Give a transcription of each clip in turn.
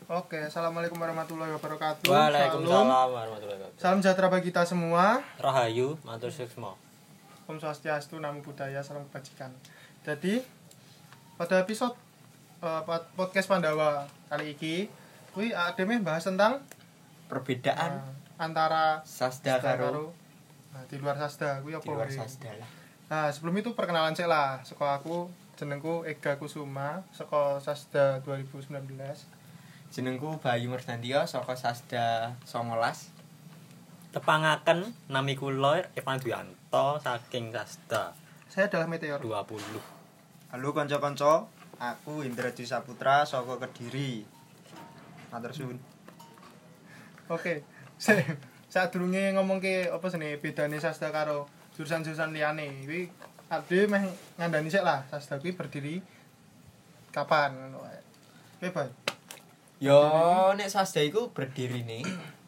Oke, assalamualaikum warahmatullahi wabarakatuh. Waalaikumsalam warahmatullahi wabarakatuh. Salam sejahtera bagi kita semua. Rahayu, matur suksma. Om Swastiastu, Namo Buddhaya, salam kebajikan. Jadi pada episode podcast Pandawa kali ini, kuwi ademe bahas tentang Perbedaan antara sasda karo di luar sasda kuwi apa di luar wae. sasda lah. Nah, sebelum itu perkenalan saya lah. Saka aku jenengku Ega Kusuma, saka Sasda 2019. Jenengku Bayu Murdantia saka Sasda 19. Tepangaken nami kula Evan Duyanto saking Sasda Saya adalah Meteor. 20. Halo kanca-kanca, aku Indraji Saputra saka Kediri. Matur suwun. Oke. Saat durunge ngomongke apa sene bedane Sasda karo jurusan-jurusan liyane. Kuwi ade meh ngandani sik lah Sasda kuwi berdiri kapan ngono wae. Oke, Bay. Yo nek Sasda iku berdirine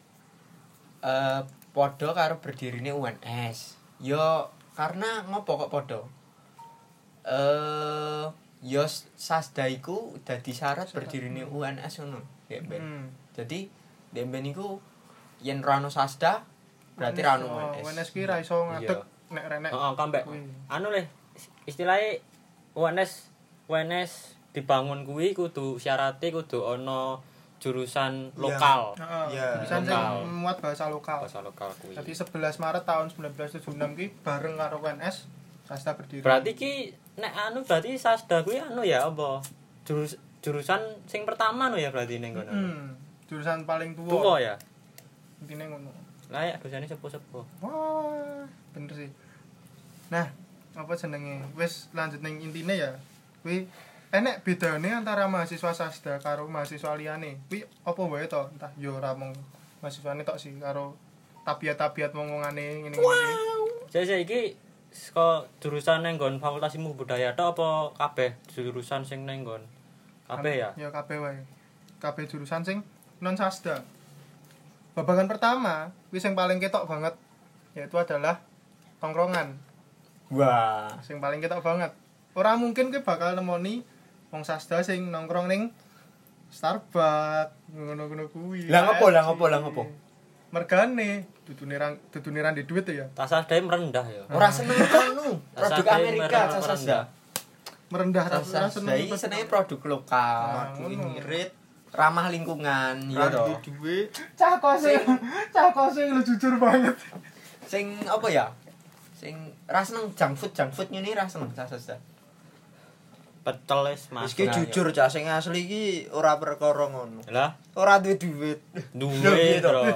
padha karo berdirine UNS. Yo karena ngopo kok padha? Yo Sasda iku dadi syarat berdirine UNS ngono, ya Ben. Jadi demben iku yen ra ono Sasda berarti ra ono UNS. UNS ki ra iso ngadeg nek renek. Heeh, kambek. Anu le istilahnya UNS dibangun kuwi kudu syarate kudu ana jurusan lokal. Heeh. Jurusan sing muat bahasa lokal. Bahasa lokal kuwi. Jadi 11 Maret tahun 1976 ki bareng karo UNS Sasda berdiri. Berarti ki nek anu berarti Sasda kuwi anu ya apa? Jurusan sing pertama no ya berarti ning kono. Jurusan paling tua. Tua ya. Intine ngono. Lah ya dosane sepuh-sepuh. Wah, bener sih. Nah, apa jenenge? Wis lanjut ning intine ya. Kuwi enek bedane antara mahasiswa Sasda karo mahasiswa liyane. Kuwi apa wae to? Entah yo ora mung mahasiswane tok sih karo tabiat-tabiat wong-wongane ngene-ngene. Saya iki saka jurusan nang nggon Fakultas Ilmu Budaya tok apa kabeh jurusan sing nang nggon? Kabeh ya? Ya kabeh wae. Kabeh jurusan sing non Sasda. Babagan pertama, kuwi sing paling ketok banget yaitu adalah tongkrongan. Wah, Sing paling ketok banget. Ora mungkin kowe bakal nemoni wong Sasda sing nongkrong ning Starbucks ngono-ngono kuwi. Lah ngopo? Mergane dudune ra ndek duit ya. Tas Sasda merendah ya. ora seneng anu, produk Amerika Sasda. Merendah ra Sasda iki senenge produk lokal, irit, ramah lingkungan, ya to. Duwe Cah kose lu jujur banget. Sing apa ya? Sing ra seneng junk food ngene ra seneng Sasda. Pecel wis Mas. iki jujur cah sing asli iki ora perkara ngono. Lah, Ora duwe duit. duwe bro.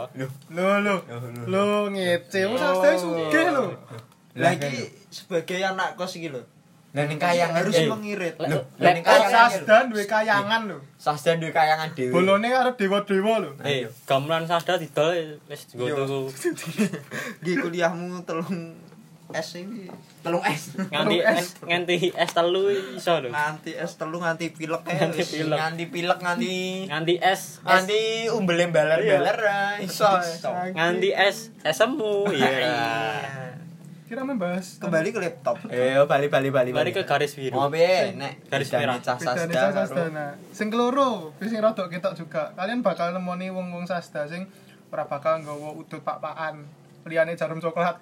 Lo ngece wong Sasda sugih lho. Lah iki sebagai anak kos iki lho. Lah ning kayangan Harus mengirit. Lah ning Sasda duwe kayangan lho. Sasda duwe kayangan dhewe. Bolone arep dewa-dewa lho. Gamelan Sasda didol wis nggo tuku. Iki kuliahmu telung S iki. Telung es. Nganti es telu iso lho. Nganti S3 nganti pilek Nganti pilek. Nganti pilek Nganti es nganti umbele baler-baler ra iso. nganti es semu. Iya. Kira membahas Kembali ke laptop. Bali. Balik ke garis biru. Oh piye nek Garis bedane merah. cah bedane Sasda karo Sasda. Nah, sing keloro, sing rada ketok juga. Kalian bakal nemoni wong-wong Sasda sing ora bakal nggawa udut pak-pakan. Liyane jarum coklat.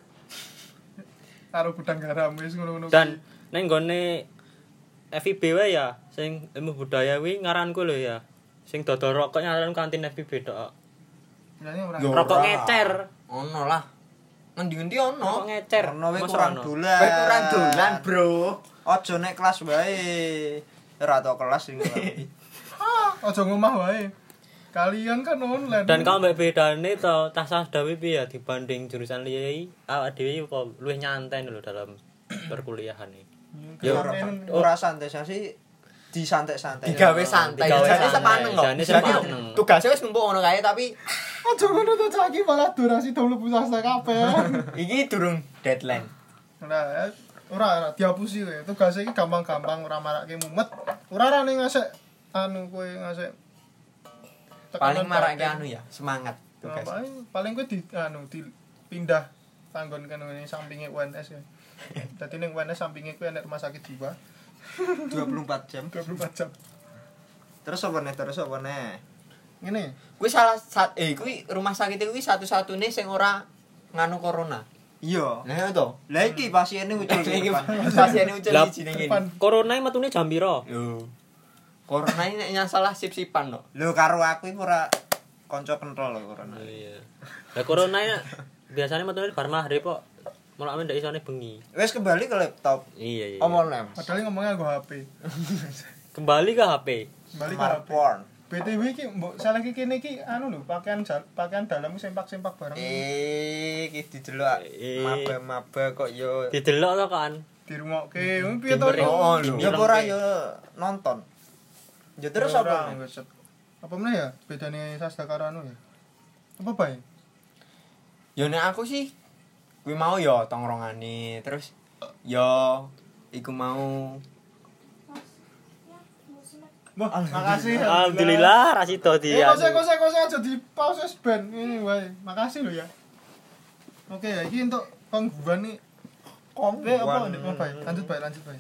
Karo gudang garam wis ngono-ngono. Dan ning nggone FIB wae ya, sing ilmu budaya kuwi ngaranku lho ya. Sing dodol rokok ngaran kantin FIB tok. Liyane ora. Yo. Rokok Ora. ngecer. ono lah. Ngendi-endi Rokok ono. ngecer. Ono wae Masa kurang ono? dolan. Kowe kurang dolan, Bro. Aja nek kelas wae. Ora tau kelas sing Aja ngomah wae. Kalian kan online. Dan kalau mbak bedane to tas Sasda piye ya dibanding jurusan liya awak dhewe kok luwih nyantai lho dalam perkuliahan iki. Yo ora santai sih disantai-santai. Digawe santai. Digawe Jane santai. sepaneng kok. Jane sepaneng. Tugasnya wis numpuk ngono kae tapi aja ngono to cah iki malah durasi mlebu Sasda kabeh. iki durung deadline. Nah, ora dihapusi kowe. Tugas iki gampang-gampang ora marake mumet. Ora rane ngasek anu kowe ngasek Paling marake anu ya, semangat tugas. Paling kowe dipindah panggon kan ngene sampinge UNS ya. Dadi ning UNS sampinge kowe enek rumah sakit jiwa 24 jam. 24 jam. Terus apa nih? Ngene. Kuwi kuwi rumah sakit kuwi satu-satunya sing ora nganu corona. Iya. Nah to. Lah iki pasiene ucul Iki depan. pasiene ucul Lah, siji ning depan. kene. Corona metune jam piro? Yo. Corona ini nek nyasalah sip-sipan no. Lho karo aku iki ora kanca kental lho corona. Iya. Lah corona biasanya metune bar maghrib kok. Malah ndak isone bengi. Wis kembali ke laptop. Iya. Omong nem. Padahal ngomongnya nggo HP. Kembali ke HP. Kembali ke HP. Smartphone. BTW iki mbok salah iki kene iki anu lho, pakaian dalam sempak-sempak bareng. Iki didelok maba-maba kok yo Didelok to kan. Dirungokke. Piye to? Oh, lho. ya ora yo nonton. Ya terus apa? Apa meneh ya bedane Sasda karo anu ya? Apa bae? Yo nek aku sih kuwi mau yo tongkrongane terus yo iku mau Wah, makasih. Alhamdulillah Rasido di. Kose aja di pause ben. Ini wae. Makasih lho ya. Oke ya, iki untuk kongguan nih. Apa ndek bae? Lanjut bae.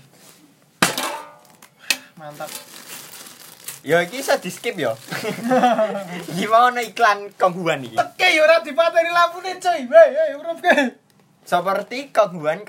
Mantap. yo iki iso di-skip yo. Iki mau ana iklan kongguan iki. Teke yo ora dipateni lampune, coy. Hei, urip ke. Seperti kongguan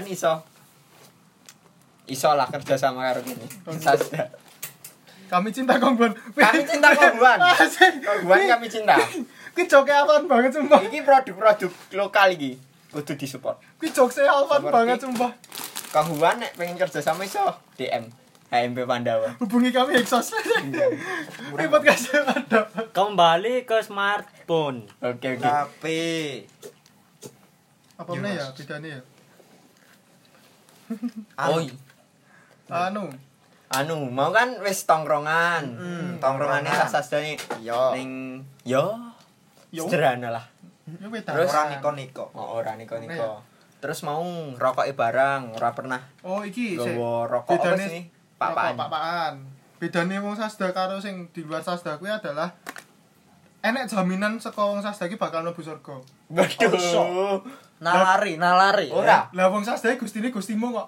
iso lah kerja sama karo kene. Sasda. Kami cinta kongguan. Kami cinta kongguan. Asik. Kongguan kami cinta. Ki joke apaan banget sumpah. Iki produk-produk lokal iki kudu disupport. Ki joke apaan banget sumpah. Kongguan nek pengen kerja sama iso DM HMP Pandawa. Hubungi kami Exos. Ribet kasih ada. Kembali ke smartphone. Oke. HP. Apa meneh ya bedane ya? Oh, anu, mau kan wis tongkrongan. Tongkrongane Sasda Yo. ning yo sederhana lah. Ya beda. Terus Ora niko-niko. Oh, ora niko-niko. Terus mau rokoke barang, ora pernah Oh, iki gowo rokok apa bedane sih? Pak-pakan. Pak-pakan. Bedane wong Sasda karo sing di luar Sasda kuwi adalah enek jaminan saka wong Sasda iki bakal mlebu surga. Waduh. Nalari. Ora. Lah wong Sasda gustine gustimu kok.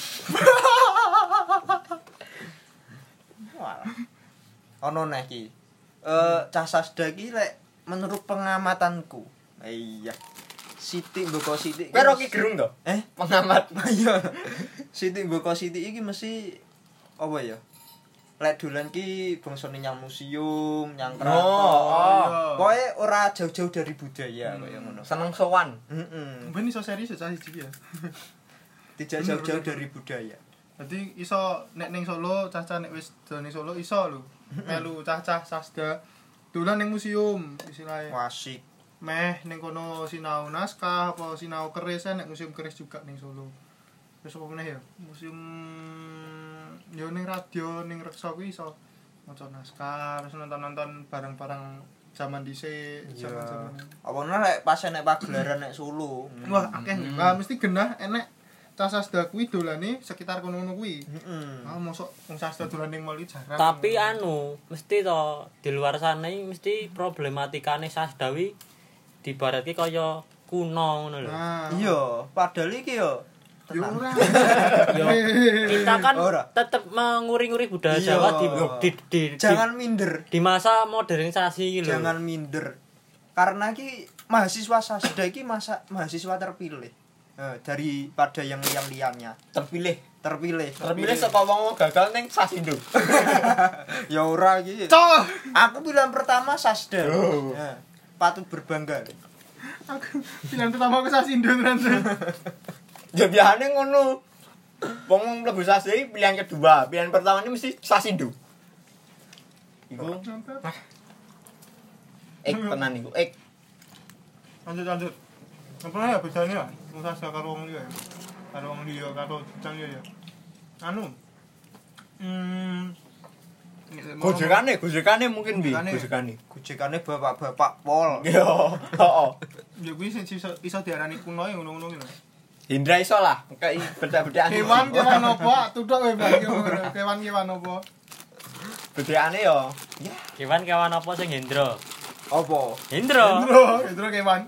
Ono neh iki. Cah Sasda iki lek menurut pengamatanku. Iya. Siti Mboko Siti. Kowe Rocky Gerung to? Pengamat. Iya. Siti Mboko Siti iki mesti apa ya? Lek dolan ki bangsane nyang museum, nyang keraton. iya. Pokoke ora jauh-jauh dari budaya kaya ngono. Seneng sowan. Heeh. Ben iso serius ya siji ya. Tidak jauh-jauh dari budaya. Dadi iso nek ning Solo, cah-cah nek wis dolan ning Solo iso lho. Melu cah-cah Sasda dolan ning museum istilahnya. Wasik. Meh ning kono sinau naskah apa sinau keris nek museum keris juga ning Solo. Terus apa meneh ya? Museum yo ning radio ning reksa kuwi iso maca naskah, terus nonton-nonton barang-barang zaman dhisik, zaman-zaman. Apa nek pas nek pagelaran nek Solo. Wah, akeh. Wah, mesti genah enek cah Sasda kuwi dolane sekitar kono-kono kuwi. Heeh. Ah, mosok wong Sasda dolan ning mall iki jarang. Tapi mesti to di luar sana iki mesti problematikane Sasda wi dibaratke kaya kuno ngono lho. Nah, Iya, padahal iki yo yo ora. Yo, kita kan Ora. tetep menguri-nguri budaya Iya. Jawa Jangan minder. di masa modernisasi iki lho. Jangan minder. Karena ki mahasiswa Sasda iki mahasiswa terpilih. Daripada yang liannya Terpilih terpilih saka wong gagal ning Sasindo. ya ora iki Cok. aku pilihan pertama Sasda. Oh. Ya, patut berbangga. Aku pilihan pertama aku Sasindo tenan. Ya biasane ngono. Wong mlebu Sasda iki pilihan kedua, pilihan pertama ini mesti Sasindo. Iku tenan iku. Lanjut. Apa ya bedane ya? Wong Sasda karo wong liya. Karo wong liya karo jang liya ya. Anu. Gojekane mungkin bi, Gojekane. gojekane. Gojekane bapak-bapak pol. Yo, heeh. Ya kuwi sing iso diarani kuno ya ngono-ngono lho. Hindra iso lah, kayak beda-bedaan. Kewan apa? Tudok wae Bang. Kewan apa? Bedane yo. Ya, Kewan apa sing Hendra? Apa? Hendra. Indro kewan.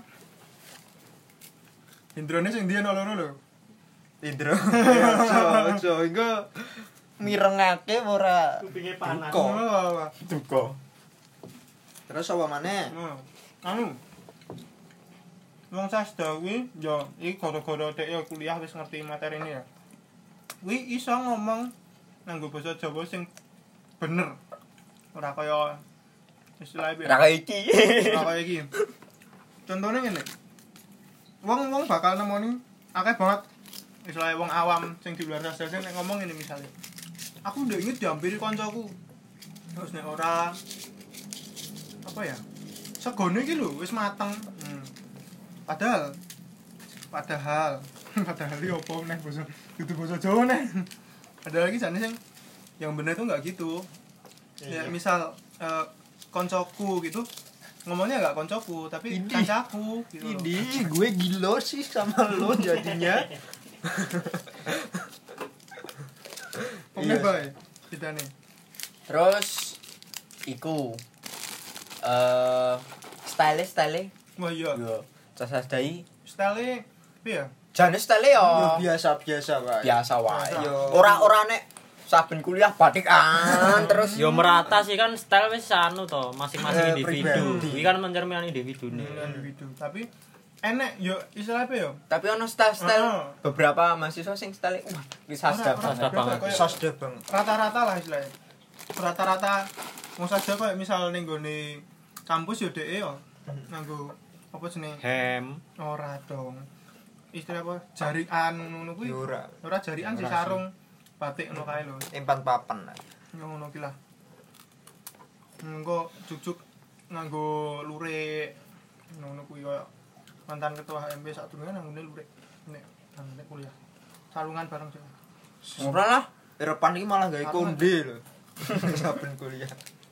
Indrone sing ndi ana loro lho. Indro. Ojo, engko mirengake ora Kupinge panas. Kok. duka. Terus apa maneh? Anu. Wong sasda kuwi yo iki gara-gara dhek yo kuliah wis ngerti materi ini ya. Kuwi iso ngomong nganggo basa Jawa sing bener. Ora kaya istilahnya piye? Ra kaya iki. Ora kaya iki. Contohnya ngene. Wong bakal nemoni akeh banget istilahnya wong awam sing di luar sasda sing nek ngomong ini misalnya. Aku udah inget dihampiri kancaku. Terus nek ora apa ya? Segone iki lho wis mateng. Padahal iki opo neh basa kudu basa Jawa neh. Padahal iki jane sing yang bener itu enggak gitu. Ya misal koncoku gitu ngomongnya enggak koncoku tapi kancaku gitu. Ini gue gila sih sama lo jadinya. Pokoknya bae bedane. Terus iku style. Wah iya. Yo, sasdai. Style piye ya? Jane style yo. Yo biasa-biasa wae. Biasa wae. Yo. Ora nek saben kuliah batikan terus Yo merata sih kan style wis anu to, masing-masing individu. Pribadi. Iki kan mencerminkan individune. Individu. Tapi enek yo istilah apa yo? tapi ono style beberapa mahasiswa sing style wah wis sasda Sasda banget. Sasda banget. Rata-rata lah istilahnya. Rata-rata mau saja kok misal ning gone kampus yo dhek yo nganggo apa jenenge? Hem. Ora dong. Istilah apa? Jarian ngono kuwi. Yo ora. Ora jarian sih sarung batik ngono kae lho. Empan papan lah. Ngono ki lah. Engko jujuk nganggo lurik. Ngono kuwi koyo mantan ketua HMB sadurunge nanggone lurik. Nek kuliah. Salungan bareng sih. ora lah Eropan iki malah gawe konde lho. Saben kuliah.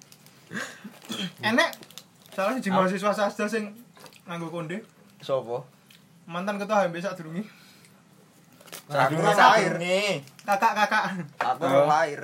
Enek salah siji mahasiswa sastra sing nganggo konde. Sopo? Mantan ketua HMB sadurunge. Aku Sadurunge lahir. Kakak. Aku ora lahir.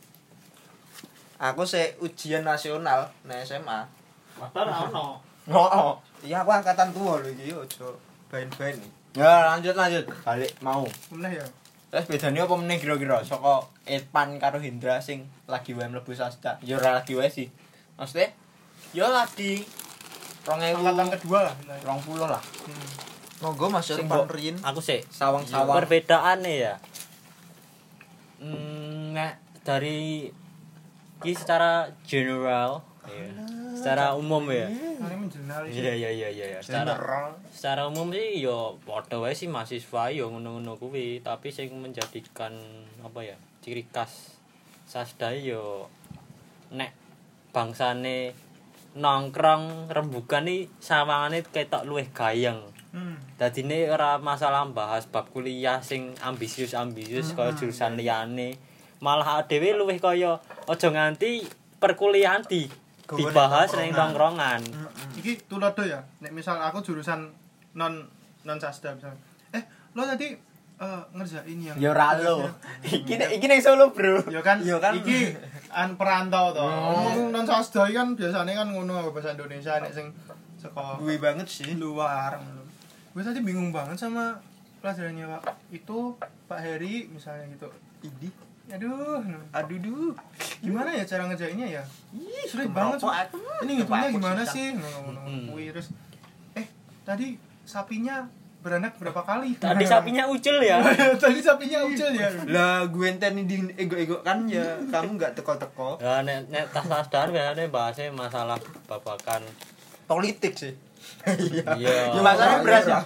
Aku se ujian nasional nang SMA. Padahal ono. oh Iya aku angkatan tua lho iki ojo bain-bain. ya lanjut balik mau Meneh ya. terus bedanya apa meneh kira-kira saka Irfan karo Hendra sing lagi wae mlebu sasda ya ora lagi wae sih maksudnya ya lagi 2000 Angkatan kedua lah. 20 lah Monggo Mas Sing Irfan mbok- Rin. Aku sih sawang-sawang perbedaannya ya. Nek dari iki secara general ya. Secara umum ya. Ini menjenar sih. Iya. Secara umum sih yo padha wae sih mahasiswa yo ngono-ngono kuwi, tapi sing menjadikan apa ya? Ciri khas sasda yo nek bangsane nongkrong rembugan iki sawangane ketok luwih gayeng. Dadine ora masalah bahas bab kuliah sing ambisius kaya jurusan liyane. Malah dhewe luwih kaya aja nganti perkuliahan dibahas ning nongkrongan. Iki tulodo ya. Nek misal aku jurusan non sasda misal. Lo tadi ngerjain yang ya ora lo iki ning Solo bro Ya kan Ya kan. iki perantau to. Non sasda iki kan biasane kan ngono bahasa Indonesia nek sing saka Gue banget sih. luar. Gue tadi bingung banget sama pelajarannya Pak. Itu Pak Heri misalnya gitu. Idi. Aduh. Aduh. Gimana ya cara ngerjainnya ya? Sulit banget. Ini ngitungnya gimana sih? Kuwi terus tadi sapinya beranak berapa kali? Tadi sapinya ucul ya. Tadi sapinya ucil ya. Lah gue enten di ego-ego kan ya kamu enggak teko-teko. Ya nek tas sasdar biasanya bahasnya masalah babakan Politik sih. iya. ya masalahnya beras ya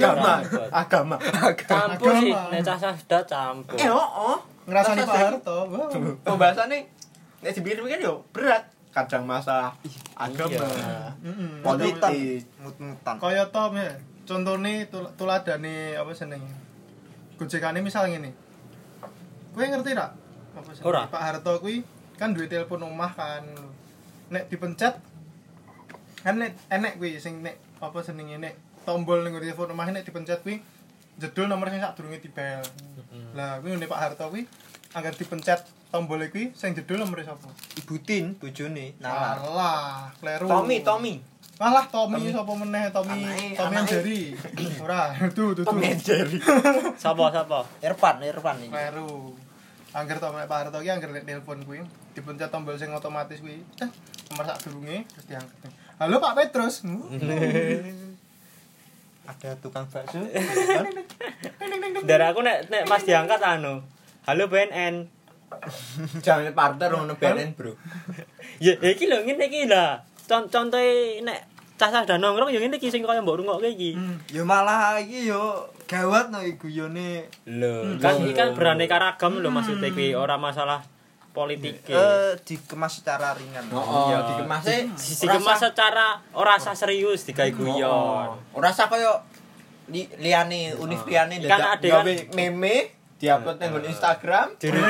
agama Campur sih nek tas sasdar campur. Ngerasani Pak Harto. Wow. pembahasannya nek dipikir-pikir yo berat kadang masalah agama Iya. politik Mut-mutan. Kaya to ya. Contone tuladane apa jenenge? Gojekane misal ngene. Kowe ngerti ra? Apa jenenge? Ora. Pak Harto kuwi kan duwe telepon omah kan. Nek dipencet kan nek enek kuwi sing nek apa jenenge nek tombol ning telepon omah nek dipencet kuwi jedul nomor sing sadurunge dibel. Lah kuwi nek Pak Harto kuwi agar dipencet tombol kuwi sing jedul nomor sapa? Ibu Tin bojone nalar. Alah, kleru. Tommy Malah Tommy sapa meneh Tommy and Jerry. Ora, tuh. Jerry Sapa? Irfan iki. Kleru. Angger to Pak Harto ki angger nek telepon kuwi dipencet tombol sing otomatis kuwi. nomor sadurunge terus diangkat. Halo Pak Petrus. Ada tukang bakso. Dari aku nek pas diangkat anu. Halo BNN. Jangan partner ngono BNN, Bro. Ya iki lho ngene iki lah. Contohe nek cah-cah nongkrong ya ngene iki sing kaya mbok rungokke iki. Ya malah iki yo gawat no guyone. Lho, kan iki kan beraneka ragam lho maksudnya iki ora masalah politik. Dikemas secara ringan. Oh, iya dikemasnya Dikemas secara ora usah serius digawe guyon. ora usah kaya liyane univ liyane Kan dadak ada kan- gawe meme diupload nang Instagram.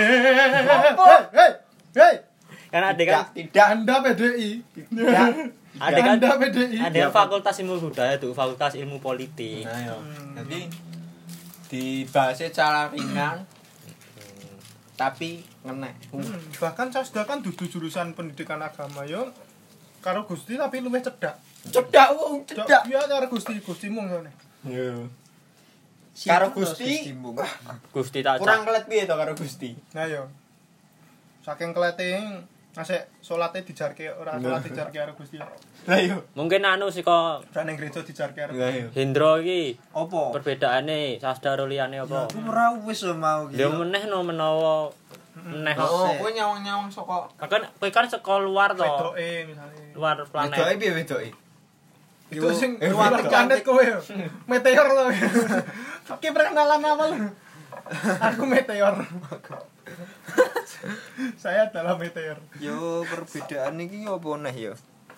Hei. Kan ada kan Tidak. Anda PDI. ada kan Anda PDI. ada fakultas ilmu budaya tuh, fakultas ilmu politik. Nah, yo. Jadi dibahas secara ringan tapi ngenek. Bahkan Sasda kan dudu jurusan pendidikan agama yo karo Gusti tapi luwih cedak. Cedak wong, cedak. Iya karo Gustimu ngene. Yo. Karo Gusti Gusti tak kurang kelet piye to karo Gusti? Nah yo. Saking kelete asik salate dijarke ora salat dijarke karo Gusti. Lah yo. mungkin anu saka Ora ning gereja dijarke karo. Lah yo. Hendro iki Apa? perbedaane Sasda karo liyane apa? Ora wis mau iki. Lha meneh no menawa meneh kok. Oh, kowe nyawang-nyawang saka Kan kowe kan saka luar to. Wedoke misale. Luar wedoke planet. piye wedoke? Itu sing luar luar planet kowe yo. Meteor to. Oke perkenalan awal. Aku meteor. Saya adalah meteor. Yo perbedaan iki apa neh yo?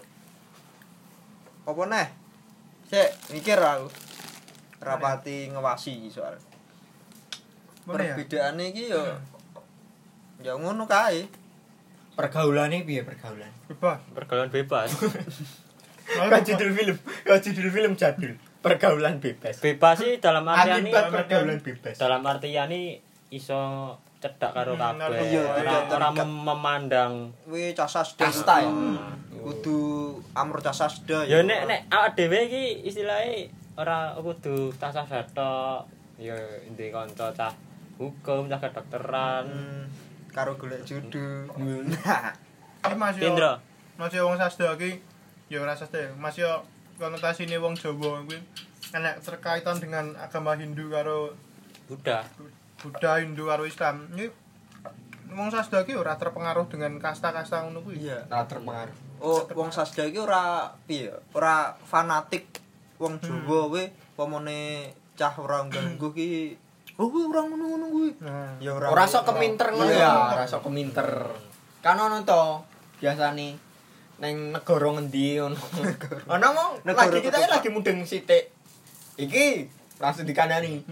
Apa neh? Sik mikir aku. Rapati ngewasi iki soal. Perbedaane iki yo ya ngono kae. Pergaulane piye pergaulan? Bebas. Pergaulan bebas. Kan judul film jadul. Pergaulan bebas. Bebas sih dalam artian Akibat pergaulan bebas. dalam artian iso cedak karo kabeh. iya, Ora tidak ora terikat. memandang Kuwi casasda Kasta ya. kudu amur casasda ya nek awak dhewe iki istilahe ora kudu tasah tok. Ya ndek kanca cah hukum, cah kedokteran. Karo golek judu. Nah, Iki Mas yo. Indra. Mas yo wong Sasda iki ya ora Sasda. Mas yo konotasine wong Jawa kuwi enek terkaitan dengan agama Hindu karo Buddha. Buddha, Hindu karo Islam. Iki wong Sasda iki ora terpengaruh dengan kasta-kasta ngono kuwi. Iya. ora terpengaruh. Oh, wong Sasda iki ora piye? Ora fanatik wong Jawa kuwi pamane cah ora ganggu ki. Oh, kuwi ora ngono-ngono kuwi. Nah, Ya Ora sok keminter ngono Iya. ya, ora sok keminter. Kan ono to biasane ning negara ngendi ngono. Ono mong Negara lagi kita ketupat. lagi mudeng sithik. Iki langsung dikandani.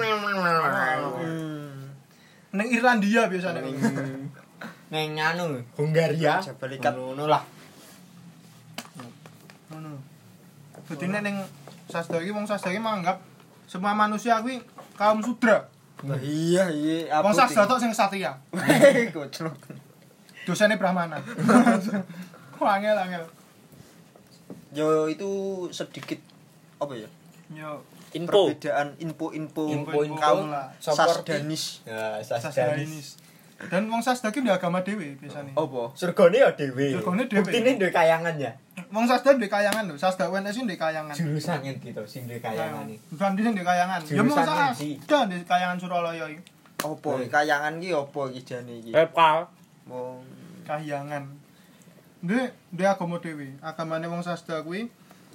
ning Irlandia biasanya. Ning anu Hungaria, Jabal Ikat. ngono lah. Ngono. Dadi nek ning Sasda iki wong Sasda iki menganggap semua manusia kuwi kaum sudra. Nah, iya, iya. Wong Sasda tok sing satria. Goclok. Dosane Brahmana. Angel. Yo itu sedikit apa ya? Yo Info. Perbedaan info-info Info-info kaum lah. Sasdanis. Ya, Sasdanis. Dan wong Sasda ki ndek agama dhewe biasane. Apa? Surgane ya dhewe. Surgane dhewe. Buktine duwe kayangan ya. Wong Sasda ndek kayangan lho, Sasda UNS ndek kayangan. Jurusan ngendi to sing duwe kayangan iki. Bukan dhisik ndek kayangan. Ya mung Jurusan ngendi? Sasda ndek kayangan Suralaya iki. Apa? Kayangan ki apa iki jane iki? Repal. Wong Kahyangan. Ndek agama dhewe. Agamane wong Sasda kuwi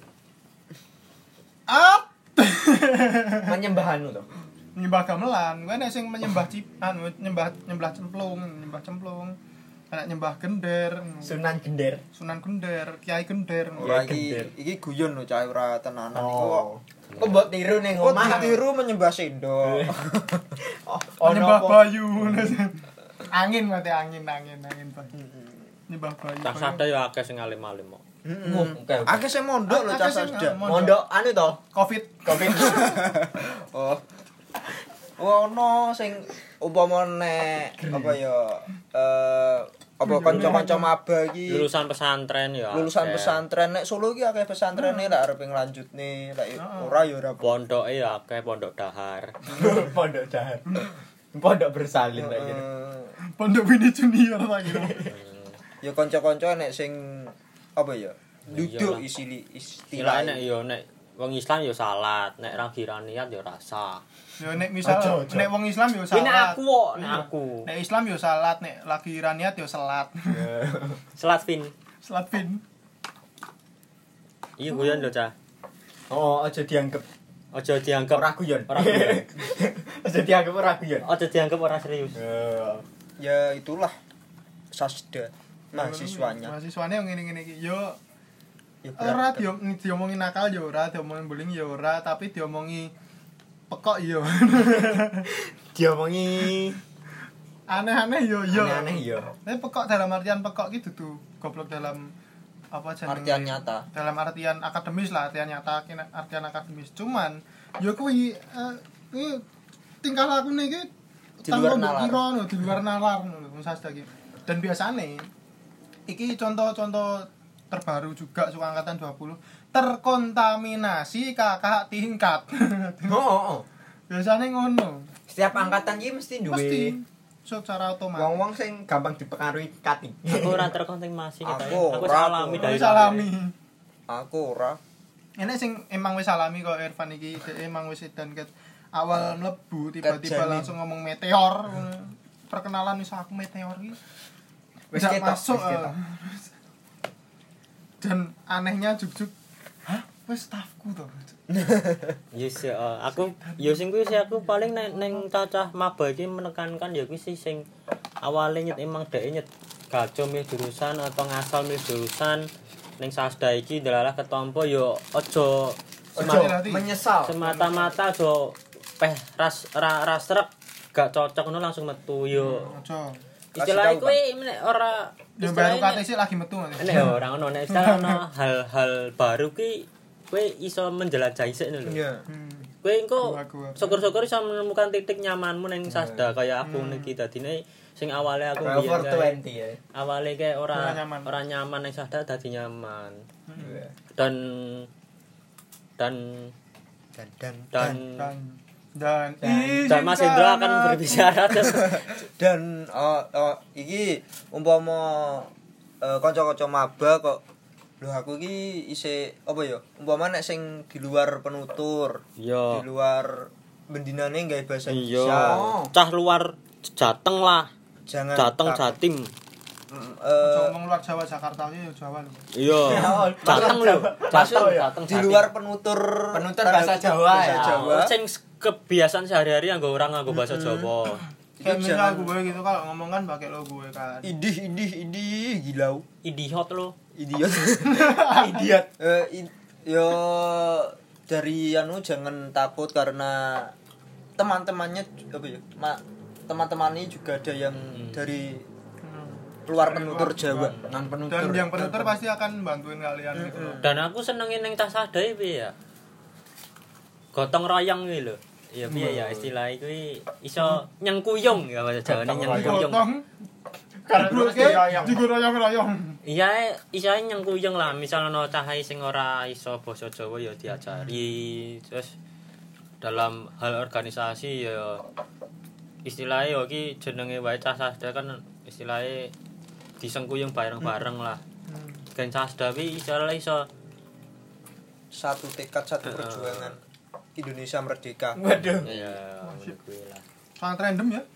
Menyembah anu to. nyembah gamelan. Kuwi nek sing menyembah nyembah cemplung, anak nyembah gender, Sunan Gender. Sunan Gender, Kiai Gender. ora Gender. iki guyon lho cah ora tenanan iku. Oh. Kok mbok tiru ning Kok omah. ditiru menyembah sendok. Nyembah Ono apa? bayu. Angin mate angin Pak. Nyembah bayu. Cah Sasda ya akeh sing alim-alim kok. Oke. Akeh sing mondok lho cah Akeh sing Sasda. Mondok anu to. Covid. Oh. Ono sing umpama nek apa ya apa kanca-kanca maba iki Lulusan pesantren ya. lulusan akeh. pesantren nek Solo iki akeh pesantrene lek arep nglanjutne lek ora ya ora Pondoke ya akeh pondok dahar. Pondok dahar. Pondok bersalin lagi. Pondok Bini Junior ta kira. ya kanca-kanca nek sing apa ya? Duduk Iyalah. istilah. Nek yo nek wong Islam yo salat, nek ra kiraniat yo rasa. Yo nek misal Ojo. nek wong Islam yo Ini salat. nek aku kok, nek Iya. aku. Nek Islam yo salat, nek lagi raniat yo salat. Salat pin. Salat pin. Iya guyon lho, Cah. Oh, aja dianggap Aja dianggap ora guyon. Ora guyon. Aja dianggap ora guyon. Aja dianggap ora serius. Ya itulah Sasda mahasiswanya. Mahasiswane yo ngene-ngene iki. Yo Ya, ora berat. diomongi nakal yo ora, diomongin bullying yo ora, tapi diomongi pekok yo. Diomongi Aneh-aneh yo yo. aneh-aneh ya. Tapi pekok dalam artian pekok gitu tuh. Goblok dalam apa jenenge? Artian nyata. Dalam artian akademis lah, artian nyata, artian akademis. Cuman yo kuwi tingkah lakune iki Di luar tanpa nalar. kira no, di luar nalar ngono lho Sasda iki. Dan biasane iki contoh-contoh terbaru juga suka angkatan 20 terkontaminasi kakak tingkat. Oh. Biasane ngono. Setiap angkatan iki mesti duwe Pasti secara otomatis. wong-wong sing gampang dipengaruhi cutting. Aku ora terkontaminasi kita. Aku Aku ora, salami Wis dari salami. Aku ora. Enek sing emang wis salami kok Irfan iki, dhek emang wis edan ket awal mlebu tiba-tiba Kerjane. langsung ngomong meteor. Perkenalan wis aku meteor iki. Wis Nggak ketok, masuk. wis ketok. Dan anehnya juk-juk, hah? Wis stafku to. Yes, aku yo sing kuwi sih aku paling neng cacah maba iki menekankan ya kuwi sih sing awale nyet emang dhek nyet gaco milih jurusan atau ngasal milih jurusan ning Sasda iki delalah ketompo yo aja Hati-hati. Menyesal. semata-mata aja ras srek gak cocok ngono langsung metu yo. Aja. Istilahnya Kasih tahu, kuwi nek ora Yang baru istilahnya kate sih lagi metu nanti. nek ora ngono nek istilah ono hal-hal baru ki kowe iso menjelajahi sik ngono lho. Iya. Kowe engko Gua. syukur-syukur iso menemukan titik nyamanmu ning Sasda kaya aku niki dadine sing awale aku Over biyen 20 ya. awale kayak Ora nyaman. ora nyaman ning Sasda dadi nyaman. Iya. Dan Dan dan Dan dan Mas Indro akan berbicara dan iki umpama kanca-kanca maba kok lho aku iki isih apa ya umpama nek sing di luar penutur di Yo. luar bendinane gawe bahasa Iya. Indonesia Cah luar Jateng lah. jangan Jateng Jatim. ngomong luar Jawa Jakarta iki ya Jawa lho. Iya. Jateng lho. Jateng Jateng. di luar penutur bahasa Jawa bahasa ya. Jawa. Sing kebiasaan sehari-hari nganggo orang nganggo bahasa Jawa. Kayak Itu misal jangan- gue gitu kalau ngomong kan pakai lo gue kan. idih gilau Idiot lo. idiot Idiot. yo dari jangan takut karena teman-temannya apa ya teman-temannya juga ada yang dari luar penutur Jawa Non penutur. Dan yang penutur pasti akan bantuin kalian gitu. Dan aku senengin ning tas sadai piye ya. Gotong royong kuwi lho. Ya piye ya istilah kuwi iso nyengkuyung ya bahasa Jawane nyengkuyung. Gotong. Terus diroyong. Diroyong-royong. Iya, iso nyengkuyung lah. Misal ana cahai sing ora iso basa Jawa ya diajari. Terus dalam hal organisasi ya istilahnya ya iki jenenge wae cah sasda kan istilahnya disengkuyung bareng-bareng lah. Gen sasda kuwi iso satu tekad satu perjuangan Indonesia merdeka Waduh. ya kuwi lah. Sangat random ya.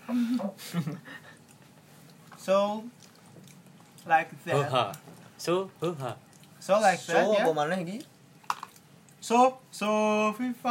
So like that. Hoha. Hoha. So like so that apa ya. maneh iki So FIFA.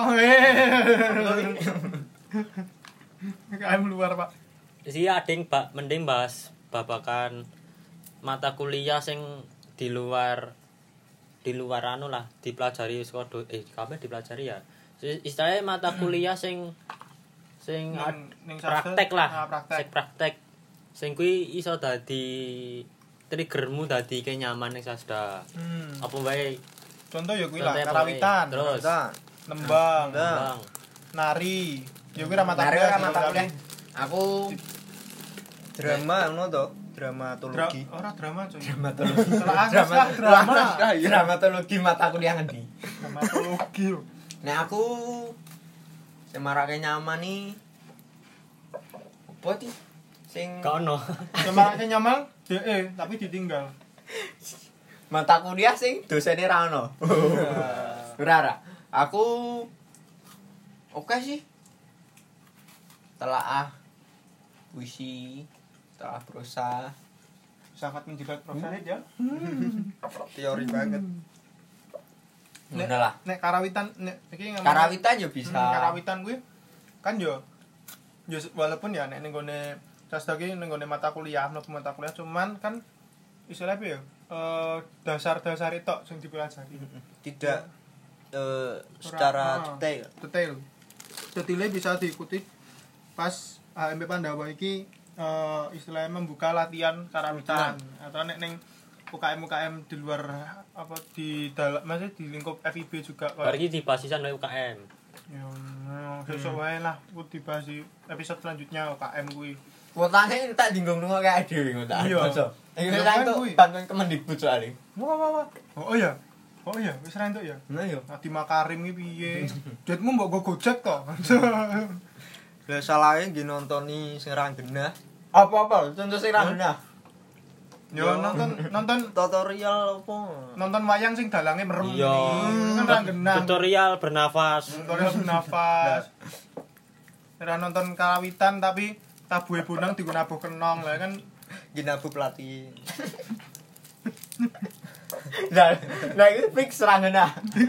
KM luar, Pak. Isi ading mending bahas babakan mata kuliah sing di luar anu lah dipelajari sekolah kabeh dipelajari ya. Istilahnya mata kuliah sing Ning praktek Sasda, lah. praktek. Sing praktek. Sing kuwi iso dadi triggermu dadi nyaman ning Sasda. Apa wae Contoh ya kuwi lah Contohnya karawitan, terus nembang, bang. nari. Ya kuwi ra mata Nari kuliah. kan mata kuliah. Aku drama ngono to dramatologi Ora drama coy. dramatologi. Salah angkas lah drama. Dramatologi mata kuliah ngendi? Dramatologi. lho. Nek aku sing marake nyaman nih apa ti? Sing Gak ono. Semarake nyaman, DE tapi ditinggal. Mata kuliah sing dosene ra ono. Ora. Aku oke sih. Telaah puisi, telaah prosa, Sangat menjilat prosa ya. Teori banget. Udah lah. Nek karawitan nek iki ngomong Karawitan ya bisa. karawitan kuwi kan yo walaupun ya nek ning gone sastra ki ning gone mata kuliah, mata kuliah cuman kan istilahnya apa ya? Dasar-dasar itu sing dipelajari. Tidak secara detail. Detail. Detailnya bisa diikuti pas HMP Pandawa iki istilahnya membuka latihan karawitan atau nek ning UKM di luar apa di dalam maksudnya di lingkup FIB juga kok. Bar iki dibasisan oleh UKM. Ya, sesuk wae lah ku dibahas di episode selanjutnya UKM kuwi. Kuotane tak dinggung nunggu kayak dhewe ngono tak. Iya. Iki Iya, kan kan tuh kuwi. bantuan Kemendikbud soalnya. Wah. Oh iya. Wis ra entuk ya. Nah yo. Adi Makarim iki piye? Duitmu mbok go Gojek to. Lah salahnya nggih nontoni sing ra genah. Apa-apa contoh sing ra genah. Yo nonton Tutorial apa? nonton wayang sing dalange merem. Iya. Kan ra genah. Tutorial bernafas. Tutorial bernafas. Ora nonton karawitan tapi tabuhe bonang digo nabuh kenong lah kan. Ginabu pelatih. Nah itu fix ra genah.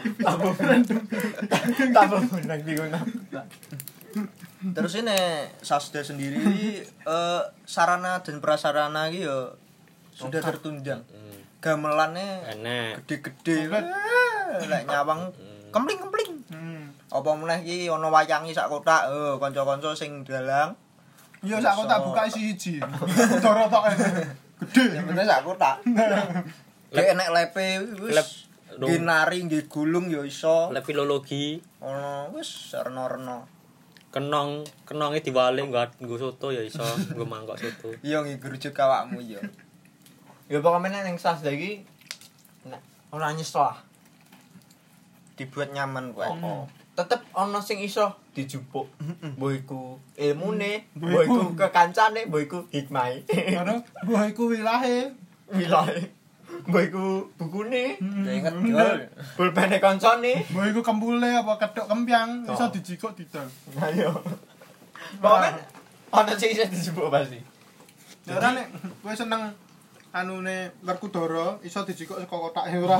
Tambah menang digunakan. Terus ini Sasda sendiri sarana dan prasarana iki ya sudah tertunjang. Gamelannya Enek. gede-gede. Lek nyawang kempling-kempling. Hmm. Apa meneh iki ana wayangi sak kotak, kanca-kanca sing dalang. Iya sak kok tak buka siji. Doro tok. Gede. Yang penting sak kotak. Lek enek lepe wis ginari nggih gulung ya iso. Lek filologi Ono wis rena-rena. kenonge diwalik nggo soto ya iso, nggo mangkok soto. Iya nggih gerujuk awakmu ya. Ya pokoknya ning Sasda iki nek ora nyesel lah. Dibuat nyaman kuwi. Tetep ana sing iso dijupuk. Mbok iku ilmune, mbok iku kekancane, mbok iku hikmahe. Karena gua iku wilahe. Wilahe. Mbok iku bukune, Ingat gol. pulpene kancane. Gua iku kembule apa kethok kempiang iso dijikuk didol. Ayo. Pokoknya ana sing iso dijupuk pasti. Ya ora nek kowe seneng anune Werkudara iso dijikuk saka kotake ora.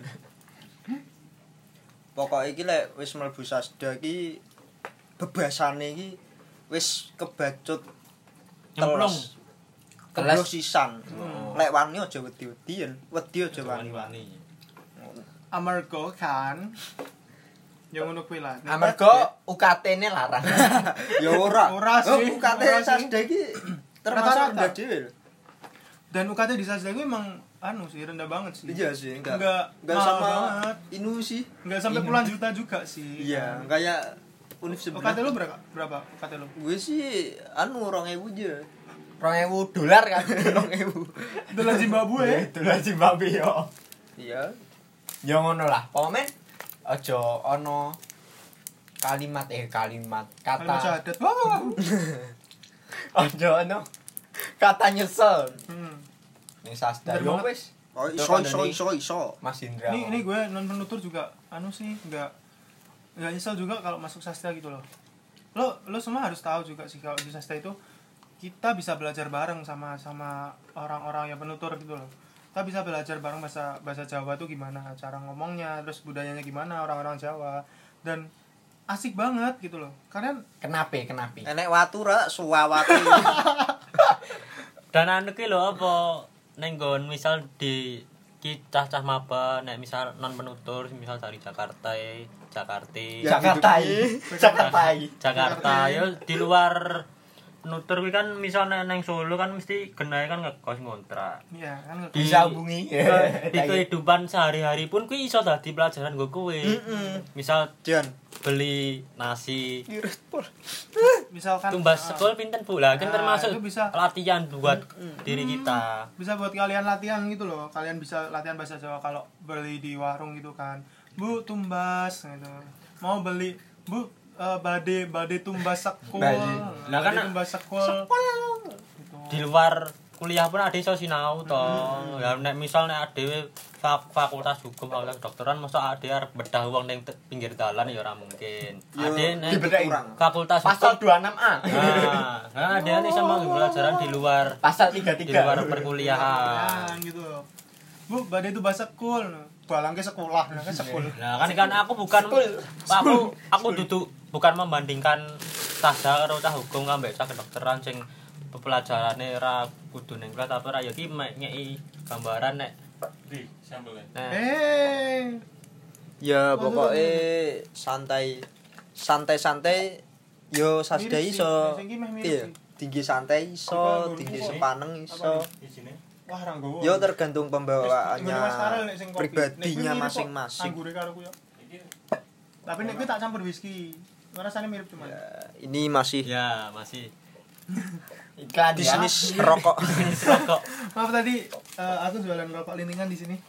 Pokoke iki lek wis mlebu Sasda iki bebasane iki wis kebacut Nyemplung. Kelas sisan. Lek wani aja wedi-wedian, wedi aja wani. Wani-wani. Amarga kan ya ngono kuwi lah. Amarga UKT-ne larang. Ya ora. Ora sih. UKT Ora sih. Sasda iki termasuk Rata-rata. rendah dhewe. Dan UKT di Sasda gue emang anu sih rendah banget sih. Iya sih, enggak mahal sama banget. Inu sih. Enggak sampai puluhan juta juga sih. Iya, kayak univ sebelah. UKT lu berapa UKT lu? Gue sih anu 2.000 aja. $2.000 kan. 2.000. Dolar Zimbabwe. Dolar Zimbabwe yo. Iya. Ya ngono lah. Pokoknya aja ana kalimat Kalimat kata syahadat. Wah. aja ana kata nyesel. Ning Sasda Bener yo banget. wis. Oh, iso. Mas Indra. Ini gue non penutur juga anu sih enggak nyesel juga kalau masuk sastra gitu loh. Lo semua harus tahu juga sih kalau di sastra itu kita bisa belajar bareng sama orang-orang yang penutur gitu loh. Kita bisa belajar bareng bahasa Jawa tuh gimana, cara ngomongnya, terus budayanya gimana orang-orang Jawa dan asik banget gitu loh. Kalian Kenapa? Enek watu ra suwawati. Dan anu ki lho apa ning nggon misal di ki cah-cah maba nek misal non penutur misal dari Jakarta Ya, Jakarta yo di luar penutur kuwi kan misal neng Solo kan mesti genahe kan ngekos ngontrak. iya kan Bisa hubungi. Di kehidupan sehari-hari pun kuwi iso dadi pelajaran nggo kowe. Misal Jan. beli nasi misalkan tumbas sekol pinten pula kan Nah, termasuk itu bisa. latihan buat diri kita. bisa buat kalian latihan gitu loh. Kalian bisa latihan bahasa Jawa kalau beli di warung gitu kan. Bu, tumbas gitu. Mau beli, Bu, bade tumbas sekol. Bade. Nah, kan Bade tumbas sekol. Di luar kuliah pun ade iso sinau to. Ya nek misal nek ade fakultas hukum fakultas kedokteran mosok ade arep bedah wong ning pinggir dalan ya ora mungkin. Ade nek fakultas Pasal hukum 26A. nah ade iso mau pelajaran di luar Pasal di 33. luar perkuliahan. gitu. Bu, badai itu bahasa sekul. Balang ke sekolah, nah kan sekul. Nah kan aku bukan aku duduk bukan membandingkan Sasda karo cah hukum ambek cah kedokteran sing pelajarane ora kudu ning kelas tapi ora ya iki nyeki gambaran nek Di sampelnya. nah Ya pokoknya santai yo Sasda Mirip sih, iso. sing iki meh mirip Iya, sih. tinggi santai iso, tinggi sepaneng iso. Di sini. Wah, ranggowo. Yo tergantung Mas pembawaannya Karel nek sing kopi. pribadinya Nek kuwi mirip kok, masing-masing. Anggure karo kuwi. Iki Tapi nek kuwi tak campur whisky. Rasanya mirip cuman. Ya, ini masih ya masih Iklan ya. bisnis rokok. rokok. Maaf tadi aku jualan rokok lintingan di sini.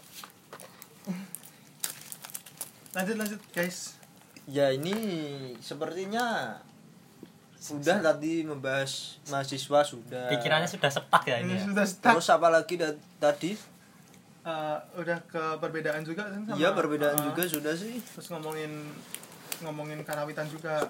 Lanjut guys. Ya ini sepertinya sudah tadi membahas mahasiswa sudah. Pikirannya sudah setak ya ini. Ini Ya? sudah stuck. Terus apa lagi tadi? Udah ke perbedaan juga kan sama. Iya perbedaan juga sudah sih. Terus ngomongin karawitan juga.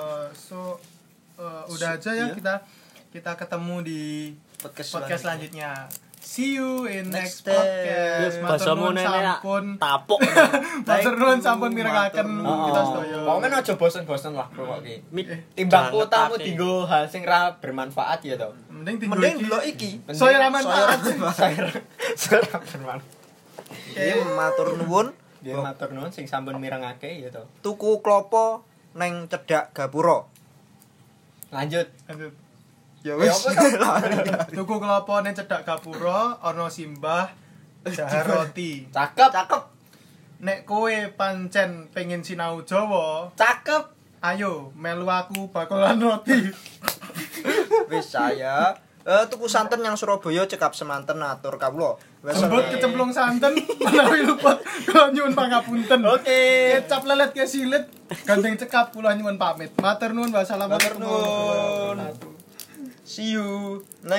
Udah aja ya Iya. kita ketemu di podcast selanjutnya. See you in next Next time. podcast. Matur Basamu nuwun nenek sampun. tapuk. Matur nuwun sampun mirengaken Matur kita sedaya. Pokoknya aja bosen-bosen lah pokok iki. Jangan Timbang kotamu ngetake. dienggo hal sing ra bermanfaat ya to. Mending Mending delok iki. Soyo ra manfaat. Saya ra bermanfaat. Iki matur nuwun Dia matur nuwun sing sampun mirengake ya to. tuku klopo neng cedhak gapura. Lanjut. Lanjut. Ya Ya wis. apa Tuku kelapa ning cedhak gapura ana simbah dahar roti. Cakep. Nek kowe pancen pengen sinau Jawa, Cakep. ayo melu aku bakolan roti. Wis saya tuku santen yang Surabaya cekap semanten atur kawula. Wes Jembut kecemplung santen menawi luput kula nyuwun pangapunten. Oke. Kecap lelet ke silit gandeng cekap kula nyuwun pamit. Matur nuwun wassalamualaikum Matur nuwun. warahmatullahi wabarakatuh. See you.